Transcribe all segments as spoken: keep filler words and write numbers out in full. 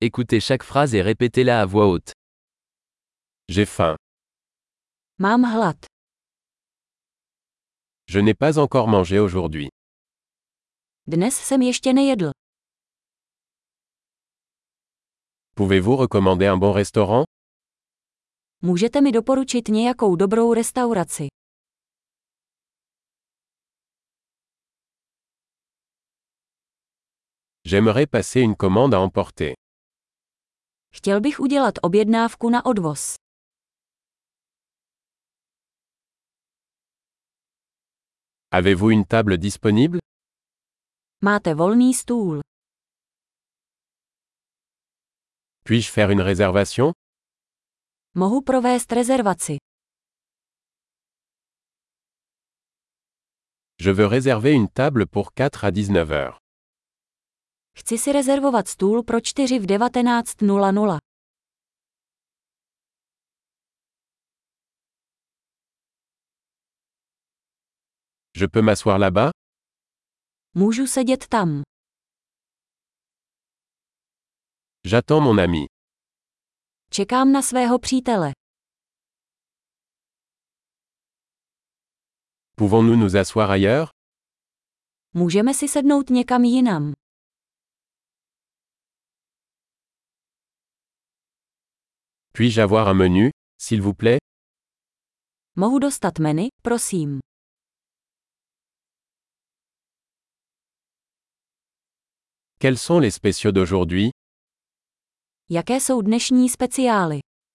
Écoutez chaque phrase et répétez-la à voix haute. J'ai faim. Mám hlad. Je n'ai pas encore mangé aujourd'hui. Dnes jsem ještě nejedl. Pouvez-vous recommander un bon restaurant? Můžete mi doporučit nějakou dobrou restauraci? J'aimerais passer une commande à emporter. Chtěl bych udělat objednávku na odvoz. Avez-vous une table disponible? Máte volný stůl. Puis-je faire une réservation? Mohu provést rezervaci. Je veux réserver une table pour quatre à dix-neuf heures. Chci si rezervovat stůl pro čtyři v devatenáct nula nula. Je peux m'asseoir là-bas? Můžu sedět tam. J'attends mon ami. Čekám na svého přítele. Pouvons-nous nous asseoir ailleurs? Můžeme si sednout někam jinam. Puis-je avoir un menu, s'il vous plaît? Mohu dostat menu, prosím. Quels sont les spéciaux d'aujourd'hui? Jaké jsou dnešní speciály?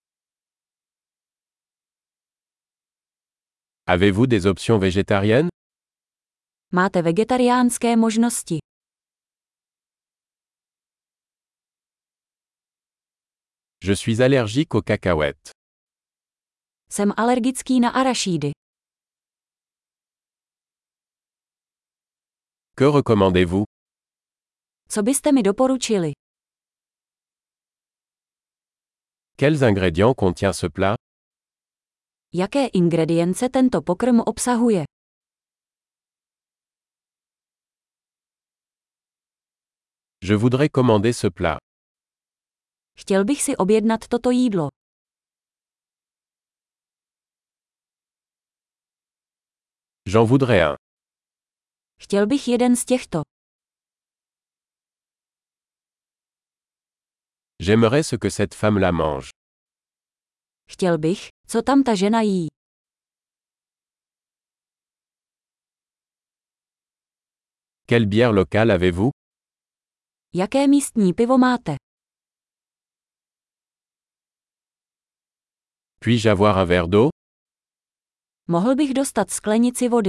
Avez-vous des options végétariennes? Máte vegetariánské možnosti. Je suis allergique aux cacahuètes. Jsem alergický na arašídy. Que recommandez-vous? Co byste mi doporučili? Quels ingrédients contient ce plat? Jaké ingredience tento pokrm obsahuje? Je voudrais commander ce plat. Chtěl bych si objednat toto jídlo. J'en voudrais un. Chtěl bych jeden z těchto. J'aimerais ce que cette femme-là mange. Chtěl bych, co tam ta žena jí. Quelle bière locale avez-vous? Jaké místní pivo máte? Puis-je avoir un verre d'eau? Mohl bych dostat sklenici vody.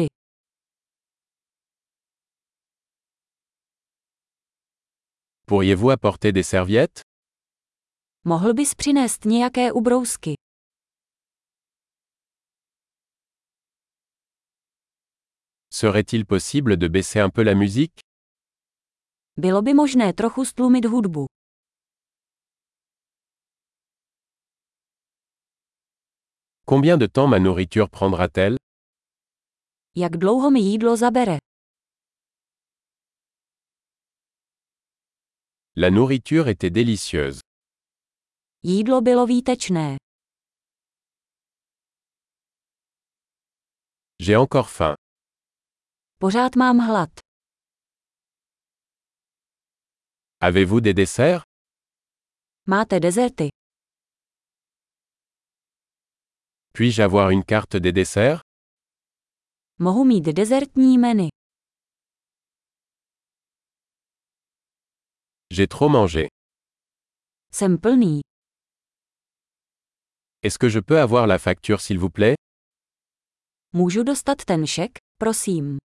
Pourriez-vous apporter des serviettes? Mohl bys přinést nějaké ubrousky. Serait-il possible de baisser un peu la musique? Bylo by možné trochu stlumit hudbu. Combien de temps ma nourriture prendra-t-elle? Jak dlouho mi jídlo zabere? La nourriture était délicieuse. Jídlo bylo výtečné. J'ai encore faim. Pořád mám hlad. Avez-vous des desserts? Máte dezerty? Puis-je avoir une carte des desserts? Mohu mít dezertní menu. J'ai trop mangé. Jsem plný. Est-ce que je peux avoir la facture s'il vous plaît? Můžu dostat ten šek, prosím.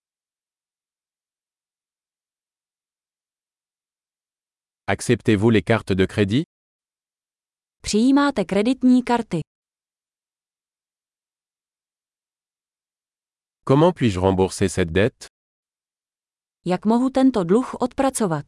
Acceptez-vous les cartes de crédit? Přijímáte kreditní karty. Comment puis-je rembourser cette dette? Jak mohu tento dluh odpracovat?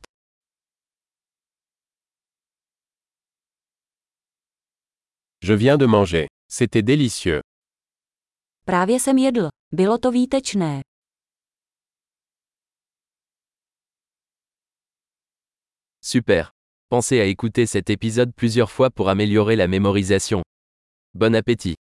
Je viens de manger. C'était délicieux. Právě jsem jedl. Bylo to výtečné. Super. Pensez à écouter cet épisode plusieurs fois pour améliorer la mémorisation. Bon appétit.